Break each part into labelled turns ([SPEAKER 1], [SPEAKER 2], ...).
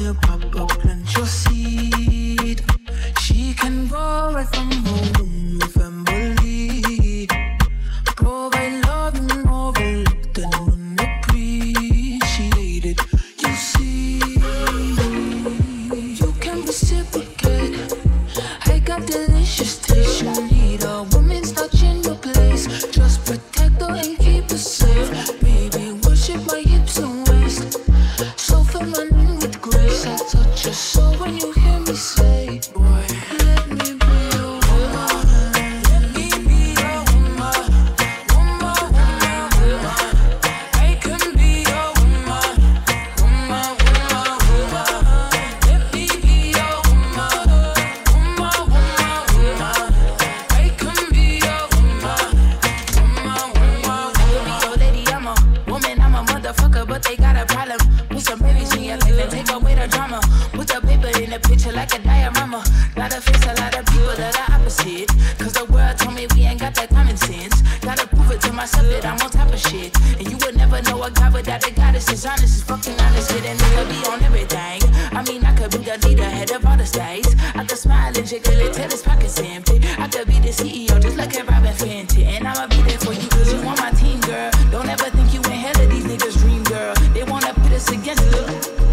[SPEAKER 1] a pop up, plant your seed. She can grow right from home, family. Provide love and overlooked and unappreciated. You see, you can reciprocate. I got delicious taste. You need a woman's touch in your place. Just protect her and keep her safe. Baby, worship my hips and waist. So feminine with grace. I touch your soul when you hear me say, boy, let me be your woman. Let me be your woman. Woman, woman, woman. I can be your woman. Woman, woman, woman. Let me be your woman. Woman, woman, woman. I can be your woman. Woman, woman, woman. Yo, lady, I'm a woman, I'm a motherfucker, but they got a problem. Put some babies in your life and take away the drama. Put the paper in the picture like a diorama. Gotta face a lot of people that are opposite. Cause the world told me we ain't got that common sense. Gotta prove it to myself that I'm on top of shit. And you would never know a guy without a goddess is honest, is fucking honest with. And it could be on everything. I mean, I could be the leader, head of all the states. I could smile and jiggle it till his pockets empty. I could be the CEO just like a Robin Fenty. And I'ma be there for you cause you on my team, girl. Don't ever think you ain't hell of these niggas' dream, girl. They wanna put us against the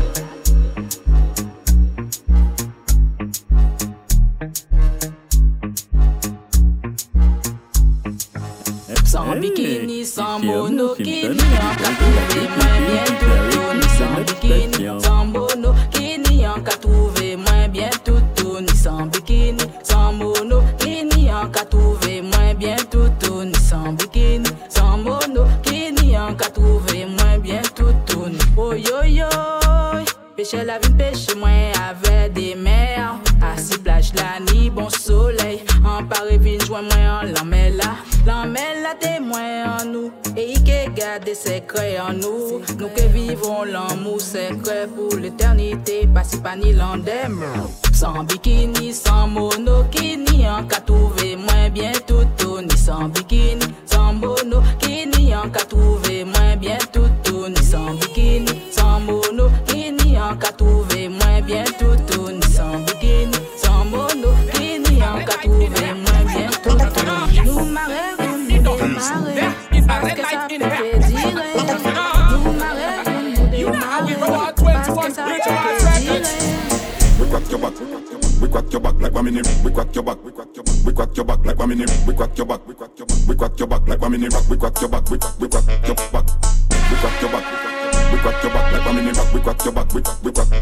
[SPEAKER 2] sans bikini, sans monokini, en cas trouvé moins bien tout ni sans bikini, sans monokini, en cas trouvé moins bien tout ni sans bikini, sans monokini, en cas trouvé moins bien tout ni sans bikini, sans monokini, en cas trouvé moins bien tout ni oh yo yo. Pêcher la vie, pêche moins avec des mers. Assis plage la nuit, bon soleil. En Paris, vine, joint moins en l'emmène là, témoin en nous. Et il garde des secrets en nous. Nous qui vivons l'amour secret pour l'éternité. Pas si pas ni l'endem. Sans bikini, sans monokini. En cas trouvé moins bien tout ni sans bikini. Sans monokini, en cas trouvé moins bien tout ni sans bikini. Sans monokini, en cas trouvé moins bien tout ni sans bikini. Sans monokini, en cas trouvé moins bien tout. Nous marrons, nous marrons, parce que ça fait dire. Nous marrons, nous marrons, parce que ça fait dire.
[SPEAKER 3] We crack your back, we crack your back like one minute. We crack your back, we crack your back like one minute. We crack your back, we crack your back like one minute. We crack your back, we crack your back, we crack your back, we crack your back like one minute. We crack your back, we crack your back,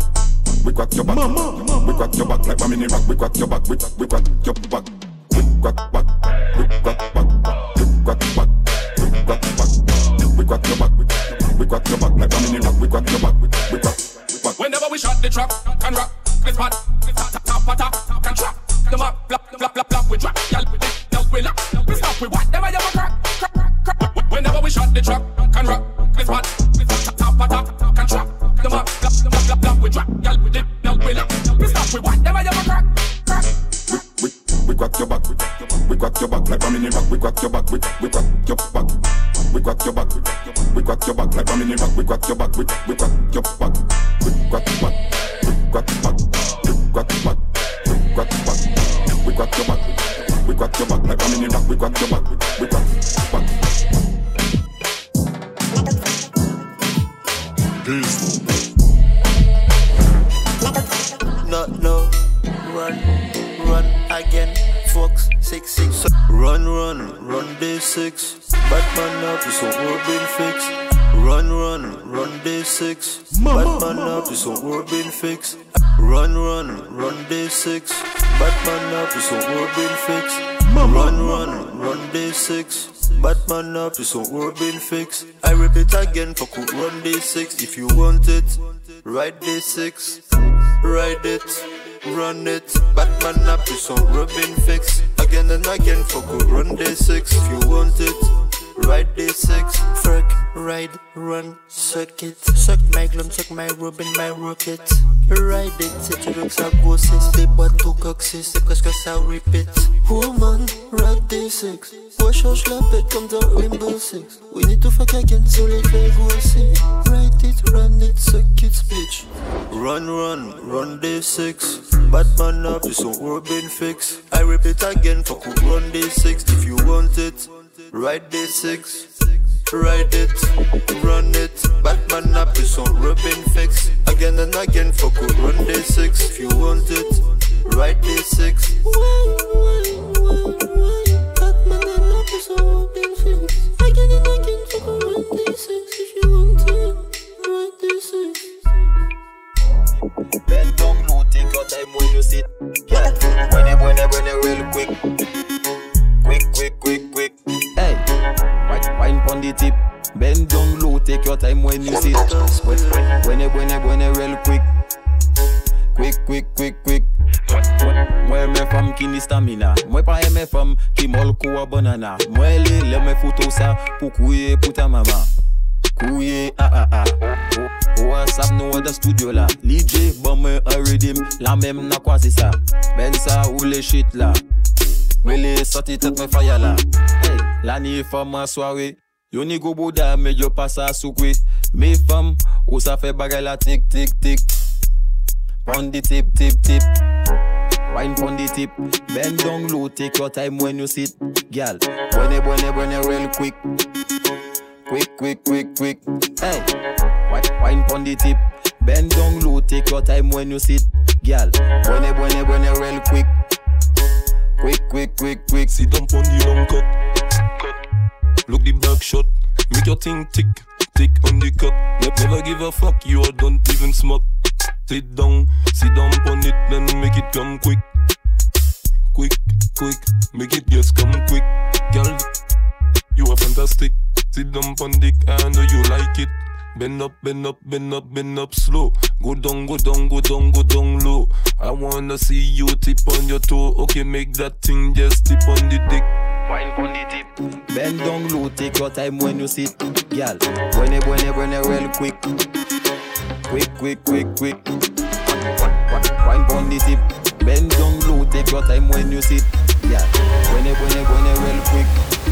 [SPEAKER 3] we crack your back, we crack your back like one minute. We crack your back, we crack your back, we crack back, we crack back, we crack back, we crack back, we crack your back, we crack your back like one minute. We crack your back, we crack.
[SPEAKER 4] Whenever we shot the truck, can rock, this part, tap, can trap, them up, flap, we drop, y'all with it, y'all we lock, we stop, we what, them a crack. Whenever we shot the truck, can rock, this part, tap, can trap, them up, flap, we drop, y'all with it, y'all we lock, we stop, we what, them a crack.
[SPEAKER 3] We crack your back, we crack your back like one minute. We crack your back, we crack your back, we crack your back, we crack your back like one minute. We crack your back, we crack your back, we crack your back, we crack your back, we crack your back, we crack your back, we crack your back like one minute. We crack your back, we crack your back.
[SPEAKER 5] No, run again. Fox 6-6. Run day 6. Batman up is some work been fixed. Run day 6. Batman up is some work been fixed. Run day 6. Batman up is some work been fixed. Run day 6. Batman up is some work been fixed. I repeat again, fuck with run day 6. If you want it, ride day 6. Ride it, run it. Batman up is some work been fixed. Again and again, fuck with run day 6. If you want it, ride day 6. Fuck, ride, run, suck it. Suck my glum, suck my rub in my rocket. Ride it, c'est tu veux que ça grossisse. Les boîtes au coccyx, c'est presque ça repeat. Woman, ride day 6. Moi change la bête comme dans Rainbow Six. We need to fuck again, so les fait grossir. Ride it, run it, suck it, bitch. Run day 6. Batman up, this one we're been fixed. I repeat again, fuck who run day 6. If you want it, ride day 6. Ride it, run it. Batman up, this one we're been fixed. Again and again, fuck who run day 6. If you want it, ride day 6. Batman up, this one we're been fixed. Again and again, fuck who run day 6. If you want it, ride day 6. Bend down low, take your time when you sit. Yeah, when you real quick. Quick.
[SPEAKER 6] Hey, wine pon the tip. Bend down low, take your time when you sit. When you real quick. Quick. Moi me femme qui ni stamina. Moi pas aimer femme qui molko a banana. Moi le me photo ça pour couiller pour ta maman. Couiller WhatsApp no other studio là. DJ bomber a rhythm. La même n'a quoi c'est ça. Ben ça ou les shit là. Mais les sorties tête me fire là. Hey, la ni femme en soirée. Yo ni go boda mais yo passe à soukwe. Mes femmes ou ça fait bagay la tic. Pon the tip. Wine pon the tip. Bend down low, take your time when you sit. Girl, when you real quick. Quick. Hey, wine pon the tip. Bend down low, take your time when you sit. Girl, when you real quick. Quick.
[SPEAKER 7] Sit down pon the long cut. Look the back shot. Make your thing tick on the cut. Never give a fuck, you don't even smoke. Sit down pon it, then make it come quick. Make it just come quick. Girl, you are fantastic. Sit down pon dick, I know you like it. Bend up slow. Go down low. I wanna see you tip on your toe. Okay, make that thing just tip on the dick.
[SPEAKER 6] Wine pon the tip. Bend down low, take your time when you sit. Girl, when you real quick. Quick. Wine pon the tip. Bend down low, take your time when you sit. Girl, when you real quick.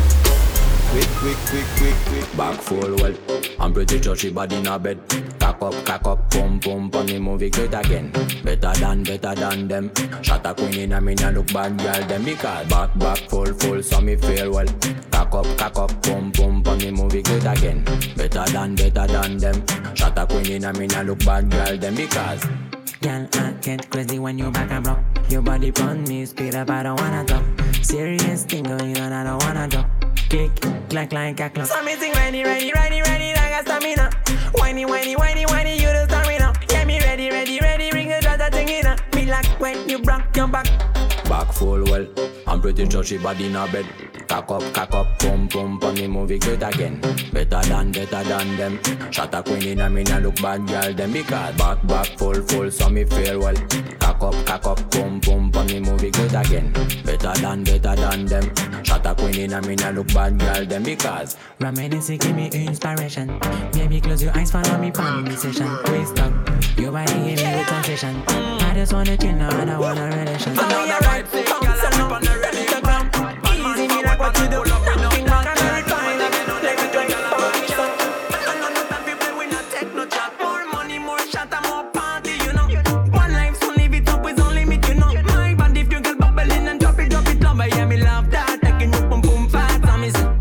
[SPEAKER 6] Quick.
[SPEAKER 8] Back full well. I'm pretty sure she body in a bed. Cock up, pump, on the movie great again. Better than them. Shot a queen in a me nah look bad girl them because back full so me feel well. Cock up, pump, on the movie great again. Better than them. Shot a queen in a me nah look bad girl them because.
[SPEAKER 9] Girl, I get crazy when you back and block. Your body pon me, speed up, I don't wanna talk. Serious thing going on, I don't wanna drop. Click, clack like a clock. Something ready, like a stamina. Whiny, you the stamina. Get me ready, ring the data thing in a. Me like when you broke your back.
[SPEAKER 8] Back full well. I'm pretty sure she body in a bed. Cock up, pump, on the movie great again. Better than them. Shot a queen in a me nah look bad girl them because back full so me feel well. Cock up, pump, on the movie great again. Better than them. Shot a queen in a me nah look bad girl them because.
[SPEAKER 9] Reminiscing give me inspiration. Baby close your eyes, follow me on the session. Twist up, your body give me with sensation. I just wanna chill now, I don't want a relation. I know you're right, girl, I'm on the ready. Easy me like what you do. Think back and refine. Let me drink a I know no time people we not take no chat. More money, more shot, and more party, you know. One life, so live it up with no limit, you know. My band if you get bubbling and drop it, love. Yeah, me love that. Taking you boom fast, I miss it.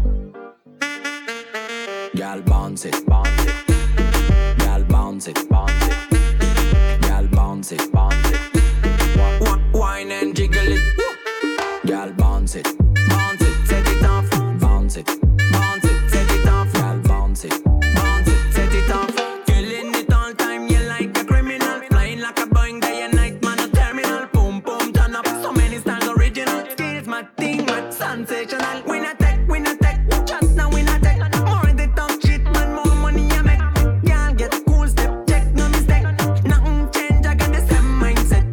[SPEAKER 8] Girl bounce it. Girl bounce it. Girl bounce it.
[SPEAKER 9] Wine and jiggle it.
[SPEAKER 8] Girl bounce it.
[SPEAKER 9] Set it off.
[SPEAKER 8] Bounce it.
[SPEAKER 9] Set it off.
[SPEAKER 8] Girl bounce it.
[SPEAKER 9] Set it off. Killing it all time, you like a criminal. Flying like a Boeing day and night, man a terminal. Boom, turn up. So many styles original. Skills, my thing, my sensational. We not tech. Just now we not tech. More the top shit, man, more money I make. Girl get cool step, check, no mistake. Nothing change, I got the same mindset.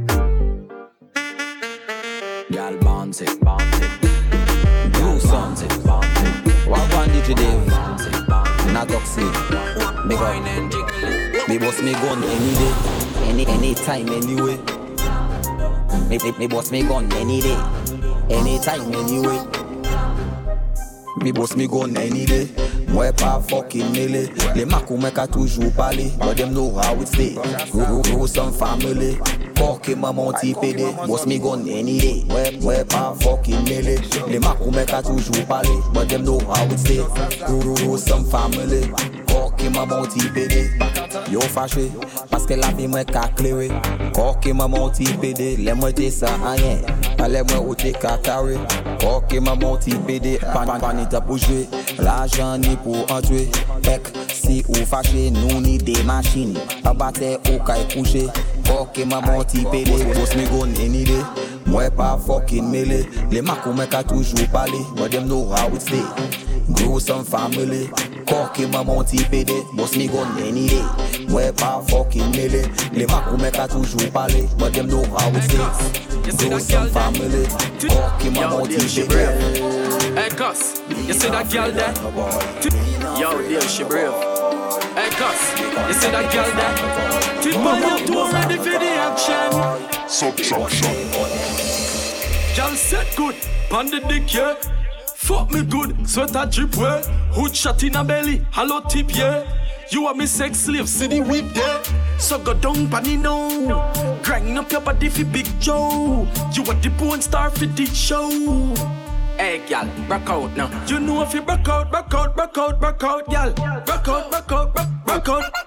[SPEAKER 8] Girl bounce it.
[SPEAKER 6] Blue song. What one did you do? Not toxic. Me go. Me boss me gun any day, any time, anyway. Me boss me gun any day, anytime, anyway. Me boss me gun any day. Moi pas fucking mêlé. Les macou mec a toujours parlé, but them know how it stay. Grow some family. Cork maman ti pédé, boss me gun any day. Moi pas fucking mêlé. Les macou mec a toujours parlé, but them know how it stay. Grow some family. Cork maman ti pédé. Yo fâché, parce que la vie moi qu'a clairé. Cork maman ti pédé, les moi t'es ça rien. Allez moi ou t'es qu'à carré. Cork maman ti pédé, panita pour jouer. L'argent ni pour entrer. Pek, si ou fâché, nous ni des machines. Abatté ou caille couché. Cork maman ti pédé, boss me gun any day. Moi pas fucking mêlé. Les macou mec a toujours parlé, but them know how it stay. Grow some family. Cork maman ti pédé, boss me gun any day. Moi pas fucking mêlé. Les macou mec a toujours parlé, but them know how it stay. Grow some family. Cork maman ti pédé.
[SPEAKER 10] Hey Cuz, you see that girl there? Yo, dear, she brave. Hey Cuz, you see that girl there? Tip on your toe, ready for the action.
[SPEAKER 3] Subtraction.
[SPEAKER 10] Girl set good, pan the dick, yeah. Fuck me good, sweater drip, way. Hood shot in a belly, hollow tip, yeah. You are me sex slave, see the whip there. So go down, panny now. Grind up your body for Big Joe. You are the porn star for this show. Hey, gal, back out now. You know if you back out, gal. Back out, back out, back out. Back out, back out, back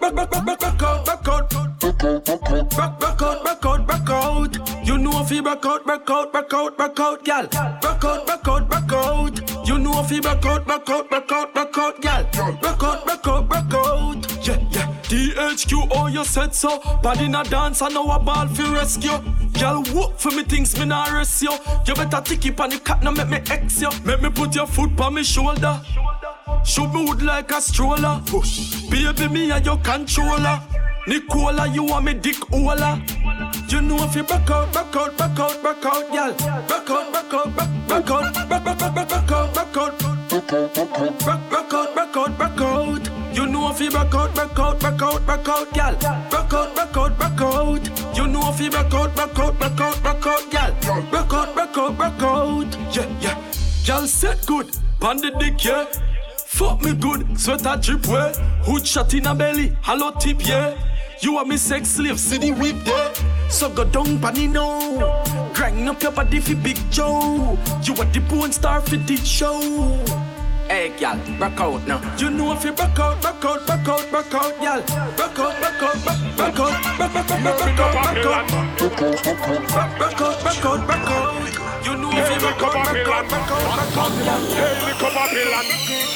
[SPEAKER 10] out. You know if you back out, gal. Back out, back out. You know if you back out, gal. Back out. Yeah. DHQ, oh, you said so. Body in a dance, I know a ball for rescue. Girl, whoop for me things, me nah rest you. You better tick it on the cat, now make me X you. Make me put your foot on me shoulder. Shoot me wood like a stroller. Baby, me and your controller. Nicola, you want me dick ola. You know if you back out, girl. Back out. You know if you back out, girl. Back out. You know if you back out, girl. Back out. Yeah. Girl set good, pan the dick, yeah. Fuck me good, sweater drip, way. Hood shot in a belly, hollow tip, yeah. You are me sex slave, see the whip there. So go down, panny now. Grind up your body for Big Joe. You are the porn star for this show. Hey, gal, back out now. You know if you back out, gal. Back out. You know if you back out.
[SPEAKER 3] Hey, little Babylon.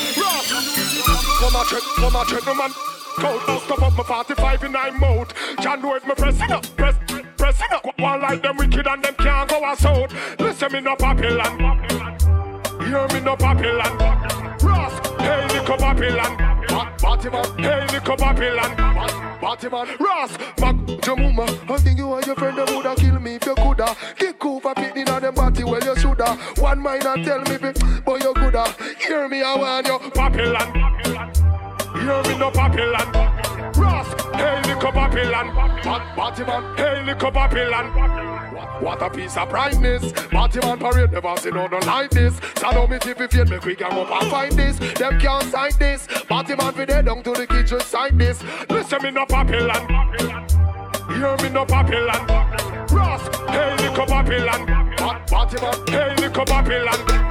[SPEAKER 3] Come on, gentlemen. Cold, now stop up my 45 in 9 mode. John know if me pressing up. One like them wicked and them can't go us out. Listen me no Babylon. Hear me no Babylon. Ross, hey little Babylon. Batman, hey little Babylon. Batman, Ross, Mac, Jamuma. I think you and your friend them woulda kill me if you coulda. Kick over pitting on them body, well you shoulda. One mind and tell me, boy you coulda. Hear me, I want you, Babylon. Hear me no Babylon. Ross, hey little Babylon. Batman, hey little Babylon. What a piece of brightness. Batman parade never seen no like this. So now me tip if you me quick and up and find this. Them can't sign this. Batman fi dead down to the kitchen sign this. Listen me no Babylon. Hear me no Babylon. Ross, hey little Babylon. Batman, hey little Babylon.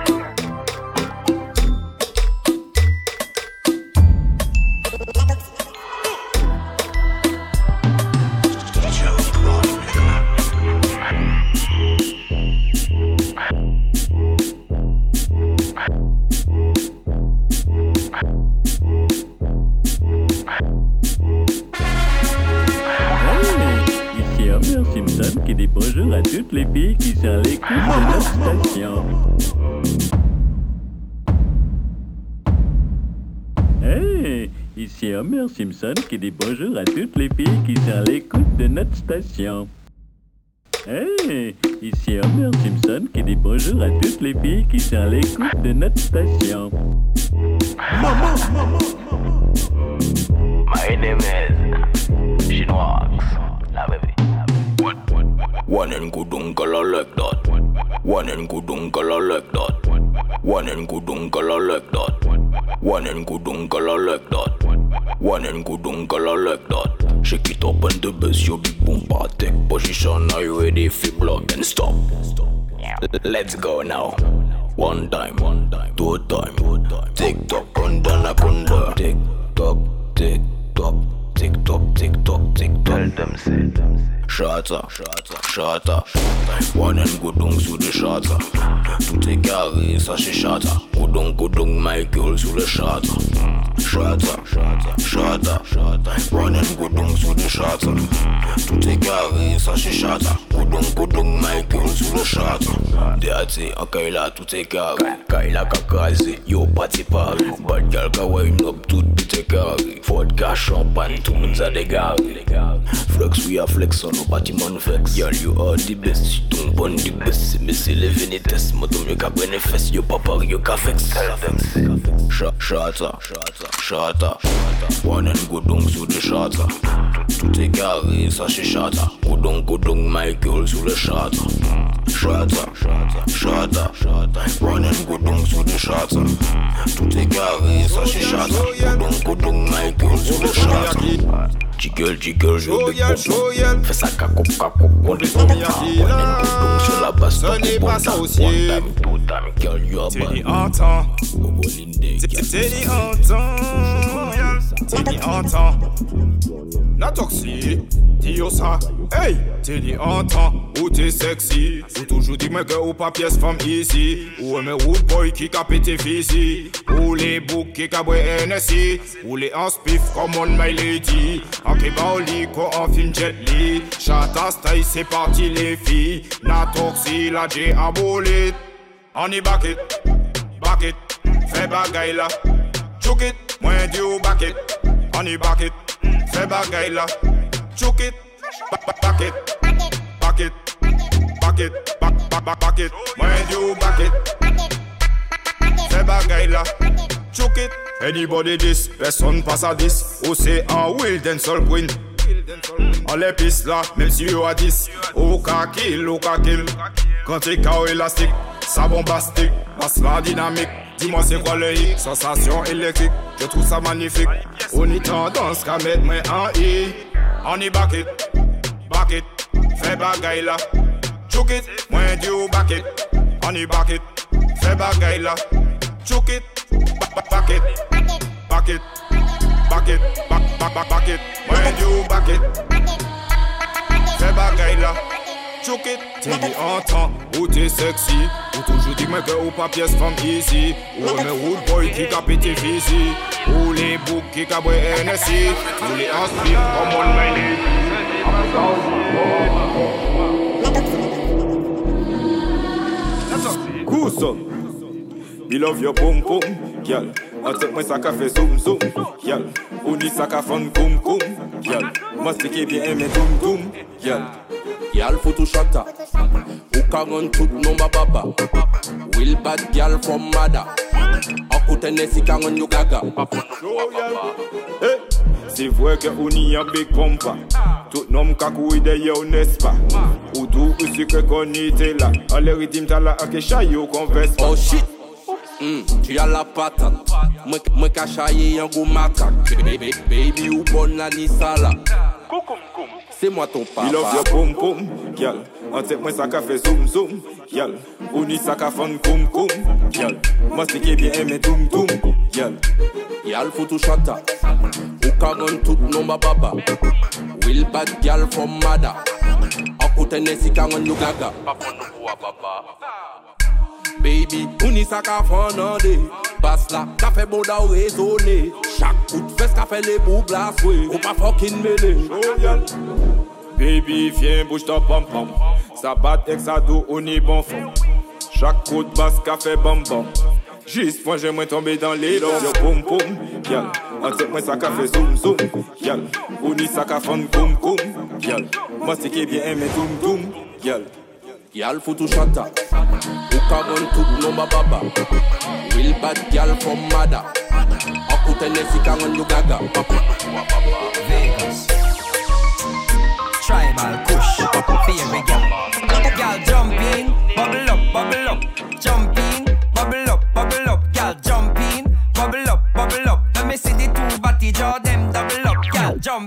[SPEAKER 11] Simpson qui dit bonjour à toutes les filles qui sont à l'écoute de notre station. Hey, ici Homer Simpson qui dit bonjour à toutes les filles qui sont à l'écoute de notre station. Hey, ici Homer Simpson qui dit bonjour à toutes les filles qui sont à l'écoute de notre station.
[SPEAKER 12] My name is Chinois, la baby.
[SPEAKER 8] One and good uncle I like that. One and good uncle I like that. One and good uncle I like that. One and good uncle I like that. One and good uncle I like that. Shake it up and the bass, your big boom part. Take position, are you ready for block and stop? Let's go now. One time, two time. Tick tock, kunda. Tick tock, tick tock, tick tock, tick tock, tick tock. Tell them say. Shatter. One and godong sous le shatter. Tout est carré, ça c'est shatter. Godong, Michael sous le shatter. Shatter. One and godong sous le shatter. Tout est carré, ça c'est shatter. Godong, Michael sous le shatter. Déaté, en Kaila, tout est carré. Kaila kakazé, yo party party. Bad girl ka wine up, tout est carré. Vodka, champagne, tout le monde a dégaré. Flex, we are flex on. Bâtiment vex, girl you are the best. Si ton bon the best, mais c'est les vénétesses. Moi ton mieux qu'à prendre fesses, yo papa yo qu'à vex. Shata. One and godong sous le shata. Tout est carré, ça c'est shata. Godong, Michael sous le shata. Shata. One and godong sous le shata. Tout est carré, ça c'est shata. Godong, Michael sous le shata. Jiggle, je veux fais ça kakop, on les on est sur la base.
[SPEAKER 13] Ce n'est pas ça aussi. Teddy entend. La toxique, dis-yo ça. Hey, Teddy entend. Ou t'es sexy. Ou toujours dit, mais que ou pas pièce femme ici. Ou un wood boy qui a pété physique. Ou les boucs qui a boit NSI. Ou les en spiff comme on my lady. En Kebaoli, ko en film Jet Li. Chata style, c'est parti les filles. La toxique, la J abolit. On y back it. Fais bagay la. Chouk it, moins du back it. On y back it. Fais bagay la. Chouk it. Back it. Moins du back it. Fais bagay la. Chouk it. Anybody this, personne passe à 10. Ou c'est un will d'un seul queen. On les pisse là, même si yo a 10. Ou ka kill. Quand t'es KO élastique, ça bombastique, passe la dynamique. Dis-moi c'est quoi le hic, sensation électrique. Je trouve ça magnifique. On y tendance qu'à mettre moi en I. On y back it. Fais bagay là. Chouk it, moins du back it. On y back it. Fais bagay là. Chouk it. Back it. Moins du back it. Fais bagay là. Chouk it. Teddy entend, ou t'es sexy. Ou toujours dit mais que ou pas pièce femme ici. Ou un wood boy qui a pété physique. Ou les boucs qui a boit NSI. Ou les inspire comme on my lady. Cousin, me love your pom pom, girl. I take my sac fait zoom zoom, girl. Ou ni sac à fun koum koum, girl. Mastique bien aimé toum toum, girl.
[SPEAKER 14] Girl photo shatter. Who can run tout non ma papa. Will bad girl from Mada. Akute nesi can run you gaga.
[SPEAKER 13] Hey, c'est vrai que on y a big pompa. Tout nom kakou de yo n'est-ce pas. Ou tout aussi que qu'on était là. En les rythmes t'as la ake chayo converse pas.
[SPEAKER 14] Oh shit. Tu as la patate. Moi cachaye un gros macaque. Baby ou bonne la nisala. C'est moi ton papa.
[SPEAKER 13] Il love your pom pom, girl. On take moi ça fait zoom zoom, girl. Ou ni ça fun koum koum, girl. Mastique bien aimé toum toum, girl.
[SPEAKER 14] Girl photo shatter. Who can run tout non ma baba. Will bad girl from Mada. Akute nesi can run you gaga. Baby, ou ni ça fun en day. Basse là, qu'a fait bon da ou raisonné. Chaque coup de fesse qu'a fait les boucles à souhait. Ou pas fucking mêlé.
[SPEAKER 13] Baby, viens, bouge ton pom-pom. Ça bat avec sa dos, on est bon fond. Chaque coup de basse qu'a fait bam-bam. Juste point, j'aimerais tomber dans les dents. Yo pom-pom, y'all. En tête, moi, ça qu'a fait zoom-zoom, y'all. On y ça qu'a fait koum-koum, y'all. Mastique bien aimé toum-toum, y'all.
[SPEAKER 14] Y'all faut tout chata. Ou can tout non ma baba. Will bad girl from Mada. Akute nesi can run you gaga.
[SPEAKER 15] Vegas. Tribal kush, favorite girl. Girl jump in, bubble up, jump in, bubble up, girl jump in, bubble up,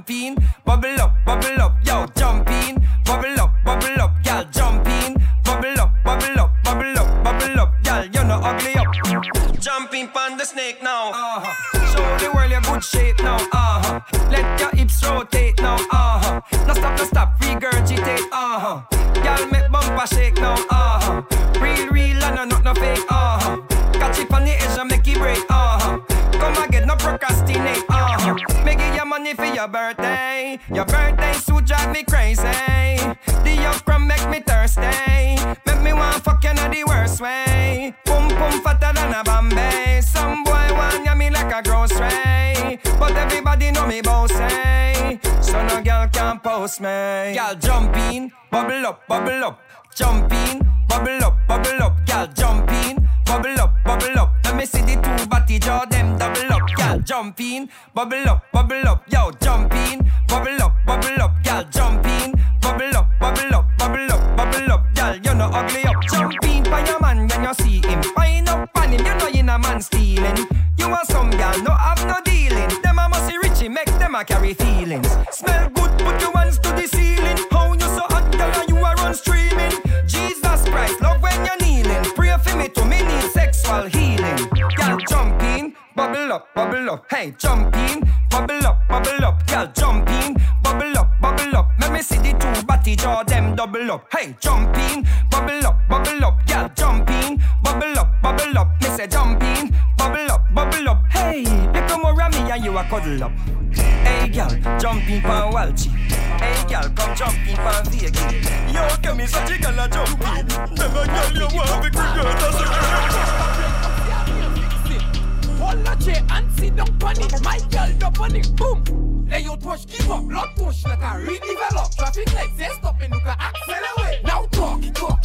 [SPEAKER 15] in, bubble up, yo, jump in, bubble up, girl, jump in, bubble up, girl, you no ugly up. Jumping pon the snake now, show the world your good shape now, let your hips rotate now, no stop, regurgitate, girl make bumper shake now, real and not no fake, catch it on the edge and make it break, come again, no procrastinate, make it your money for your birthday suit drive me crazy, the okra make me thirsty, make me want fuck you in the worst way, pum fatter than a Bombay, some boy want ya me like a grocery, but everybody know me bossy, so no girl can post me, girl jump in, bubble up, jump in, bubble up, girl jump in, bubble up, let me see the two body jaw them double up, girl jump in, bubble up, yo jump in, bubble up, girl jump in, bubble up, girl you no ugly up, jump in by your man when you see him, wind up on him, you know you a man stealing, you want some girl no have no dealing, them a must Richie make them a carry feelings, smell good put your hands to the ceiling, how you so hot girl and you a run streaming, Jesus Christ love when you're kneeling, pray for me to me need sexual healing, girl jump in, bubble up, hey jump in, bubble up, girl jump in, bubble up, let me see the two body jaw them double up, hey jump in, bubble up, girl jump in, bubble up, me say jump in, bubble up, hey, you come around me and you a cuddle up, hey girl, jump in pan Walchi, hey girl, come jump in pan Vegas, yo give me such a girl a jump in, never girl you want to girl that's a hold a chair and sit down on it, my girl up on it, boom. Lay your push, give up, blood push like a redevelop. Traffic lights, they stop and you can accelerate. Now talk.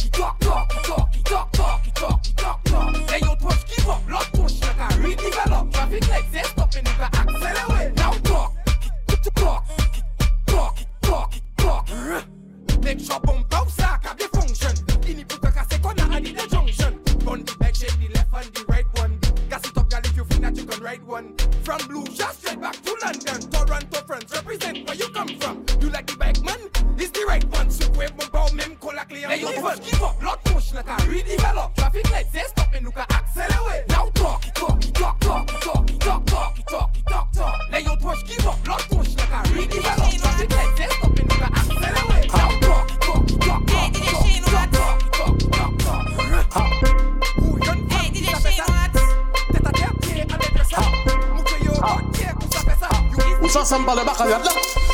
[SPEAKER 15] Lay your push, give up, blood push like a redevelop. Traffic lights, they stop and you can accelerate. Now talk. Make sure bump out sack have the function. Ini puta kase kona and the junction. Gun the back, shake the left and the right one. Gas it up, girl, if you feel that you can ride one. From Blue, just straight back to London. Toronto, France, represent where you come from. You like the bike man? It's the right one. So wave my bow, mem, call a clear. Hey, you first give up, blood push like a redevelop. Traffic lights, they stop and you can accelerate. Now talk. Lay your push, give up, blood push like a redevelop. Traffic lights, they stop and you can accelerate. Now talk.
[SPEAKER 16] Ou ça semble le bac à yad là.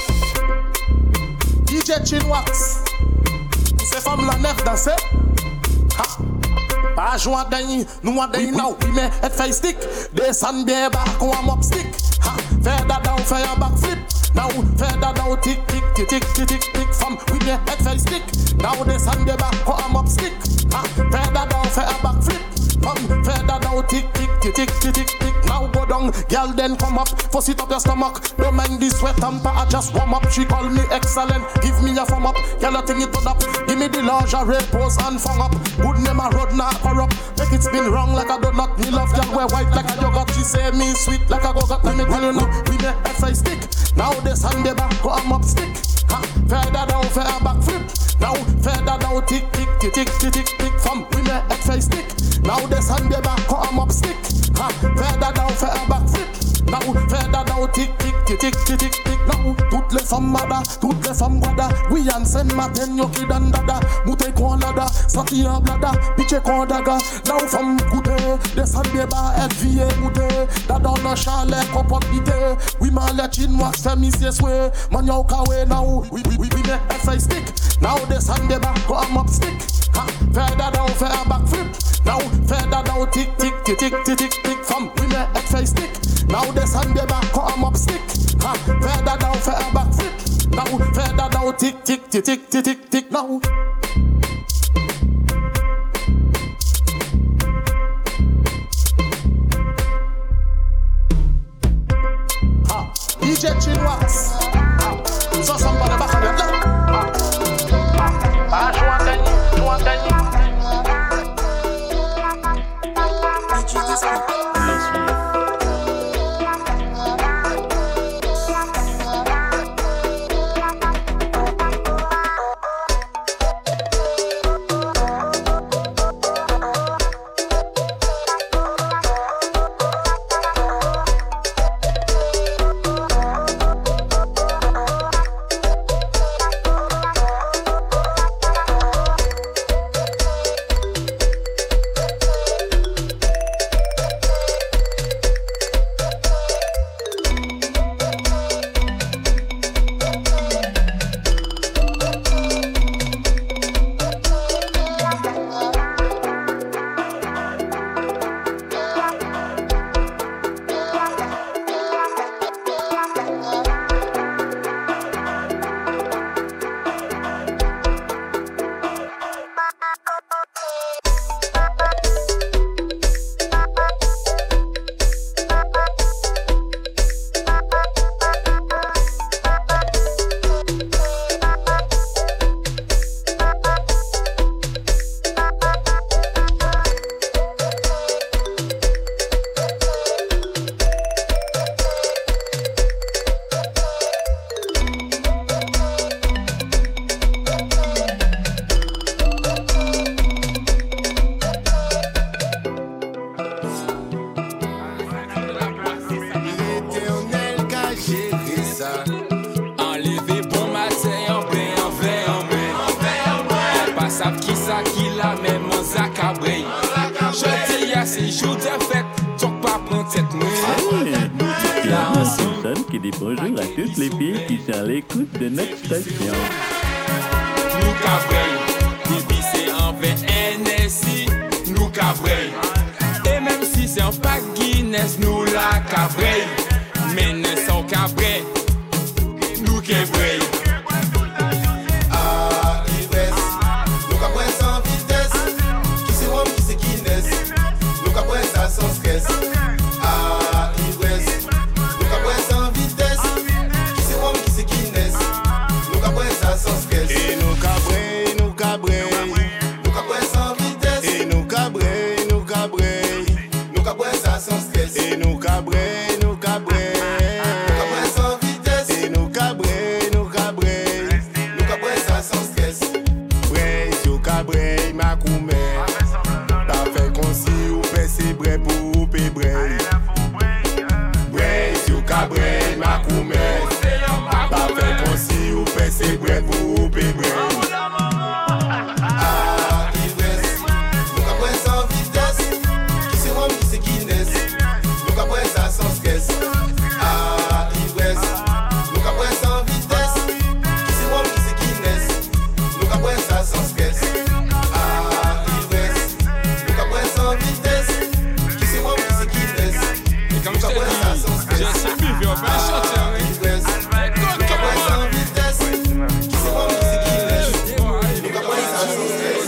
[SPEAKER 16] DJ Chinwax. C'est femme la nef danser. Ha. Pas jouer à dany, nous à dany now. Mais et fait stick. Descend bien bas qu'on a mop stick. Ha. Faire dada ou faire un backflip. Now faire dada ou tic. Femme, oui bien et fait stick. Now descend bien bas qu'on a mop stick. Ha. Faire dada ou faire un backflip. Femme, faire dada ou tic. Now go down, girl then come up. Fuss it up your stomach. Don't mind this sweat tamper, I just warm up. She call me excellent, give me a thumb up. Girl I think it put up. Give me the lingerie, pose and fung up. Good name a road not corrupt. Make it spin wrong like a donut. Me love girl wear white like a yogurt. She say me sweet like a go-got. Let me tell you now, we make FI stick. Now this hand the back, go I'm up stick. Ha, feather down, fair backflip. Now feather down, tick. From we make FI stick. Now this hand the back, go I'm up stick. Ha, feather down, fair backflip. Now feather down, tick. Now toutes les femmes mada, toutes les femmes guada. Oui en scène matin yo ki dan dada. Moute kon lada, sati en blada. Piche kon daga. Now femme goûter, descend des bas, elle vie goûter. Dada dans chalet, compote bité. Oui man let Chinwax fait monsieur sway. Man yo kawe now, we make FI stick. Now descend des bas, go am up stick. Ha, feather down, fair backflip. Now feather down, tick. Femme, we make FI stick. Now descend des bas, go am up stick. Ha, feather down, fair backflip. Now feather down, tick. Now. Ha, DJ Chinwax. So somebody back on your lap. You want that?
[SPEAKER 17] savent qui ça qui la même en zacabré. Je dis à ces jours de fête, donc pas prendre cette nuit.
[SPEAKER 11] Personne qui dit bonjour à toutes les filles qui sont à l'écoute de notre station.
[SPEAKER 17] Nous cabré, baby c'est en VNSI, nous cabré. Et même si c'est un pack Guinness, nous la cabré. Mais ne sont cabré, nous cabré.
[SPEAKER 18] Ah, ivresse, nous cabré sans vitesse. Qui c'est Rome, qui c'est Guinness. Nous cabré ça sans stress. Ah, ivresse, nous cabré sans vitesse. Qui c'est Rome, qui c'est Guinness. Nous cabré ça sans stress.
[SPEAKER 5] Et nous cabré, nous cabré.
[SPEAKER 18] Nous cabré sans vitesse.
[SPEAKER 5] Et nous cabré, nous cabré.
[SPEAKER 18] Nous cabré ça sans stress.
[SPEAKER 5] Et nous cabré, nous cabré.
[SPEAKER 18] Nous cabré sans vitesse.
[SPEAKER 5] Et nous cabré, nous cabré.
[SPEAKER 18] Nous cabré ça sans stress.
[SPEAKER 5] Brace, yo cabré, ma coumé. T'as fait qu'on si ou fait c'est bré pour ouper brace. Brace, yo cabré, ma coumé. T'as fait qu'on si ou fait c'est bré pour ouper brace.
[SPEAKER 18] Ah, ivresse, nous cabré sans vitesse. Qui c'est Rome, qui c'est Guinness. Nous cabré ça sans stress. Ah, ivresse, nous cabré sans vitesse. Qui c'est Rome, qui c'est Guinness. Nous cabré ça sans stress. Ah, ivresse, nous cabré sans vitesse. Qui c'est Rome, qui c'est Guinness.
[SPEAKER 17] Nous cabré ça sans stress. J'ai suivi un peu chanter.
[SPEAKER 18] Ivresse, nous cabré sans vitesse. Qui c'est Rome, qui c'est Guinness. Nous cabré ça sans stress.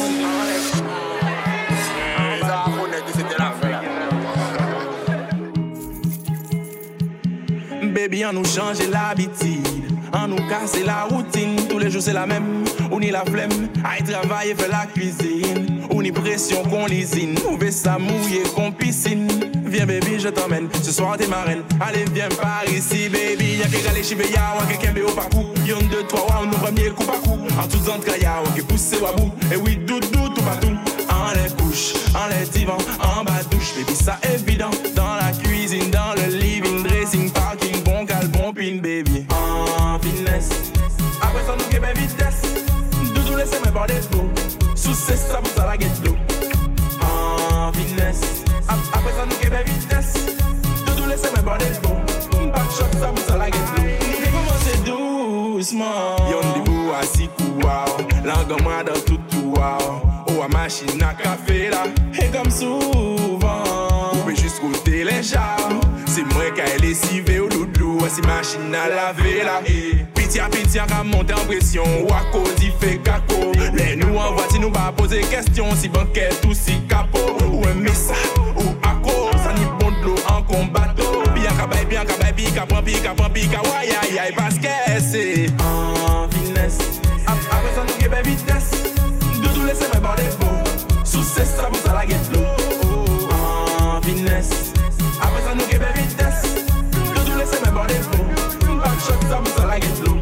[SPEAKER 10] Baby, on nous change l'habitude, on nous casse la routine. Tous les jours c'est la même, on y la flemme. Aïe travailler, fait la cuisine. On y pression qu'on lisine, on veut ça mouiller qu'on piscine. Viens baby, je t'emmène, ce soir t'es ma reine. Allez viens par ici baby. Y'a qu'à aller chez Béa, ou quelqu'un béo par coup. Y'en 2, 3, on nous premier coup par coup. En tout temps de kaya, ou qui pousse à bout. Et oui, doudou, tout partout. En les couches, en les divans, en bas douche. Baby, ça évident. Dans la cuisine, dans le living, dressing, parking, bon cal, bon pin, baby. En finesse. Après ça, nous qu'est vitesse. Doudou, laissez-moi voir des beaux. Sous ces sabots, ça la guette l'eau. En finesse. Après ça, nous qu'est vitesse. Doudou, laissez-moi voir des beaux. Backshot, ça vous ça la guette l'eau. Nous commencer doucement. Y'en des beaux à 6 coups, langue moi dans tout tout, oh, à machine à café là. Et comme souvent, on peut juste côté les chars. C'est moi qui ai lessivé au doudou, si machine à laver là. Pitia, qu'à monter en pression, wako, dit fait caco. Les nous en voiture, nous pas poser question, si banquette ou si capot. Ou un messa, ou acco, ça n'y bon de l'eau en combatto. Bien qu'à bail, pica, ouais, aïe, parce que c'est en finesse. Après ça, nous qu'est vitesse. Doudou, laissez-moi voir des beaux. Sous ces sabots, ça la guette l'eau. En finesse. Après ça, nous qu'est vitesse. Doudou, laissez-moi voir des beaux. Backshot, ça vous ça la guette l'eau.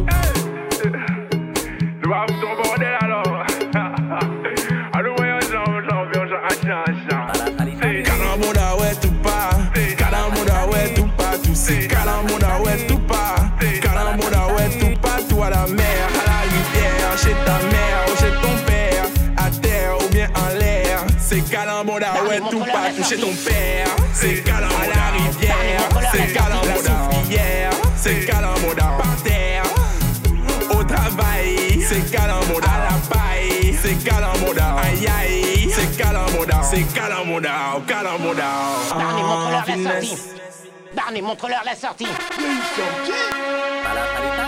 [SPEAKER 10] Nous avons ton bordel alors. Alors, voyons, c'est Calamouda, ouais, tout pas. Calamouda, ouais, tout pas. Tout c'est Calamouda, ouais, tout pas. Calamouda, ouais, tout pas. Tout à la mer, à la rivière. Chez ta mère ou chez ton père. À terre ou bien en l'air. C'est Calamouda, ouais, tout pas. Tout chez ton père. C'est Calamouda, à la rivière. C'est Calamouda, c'est Calamouda, par terre. Au travail, c'est Calamouda, à la paille. C'est Calamouda, aïe aïe. C'est Calamouda, Calamouda.
[SPEAKER 19] Barney, montre-leur la sortie. Barney, montre-leur la sortie.
[SPEAKER 10] Sortie.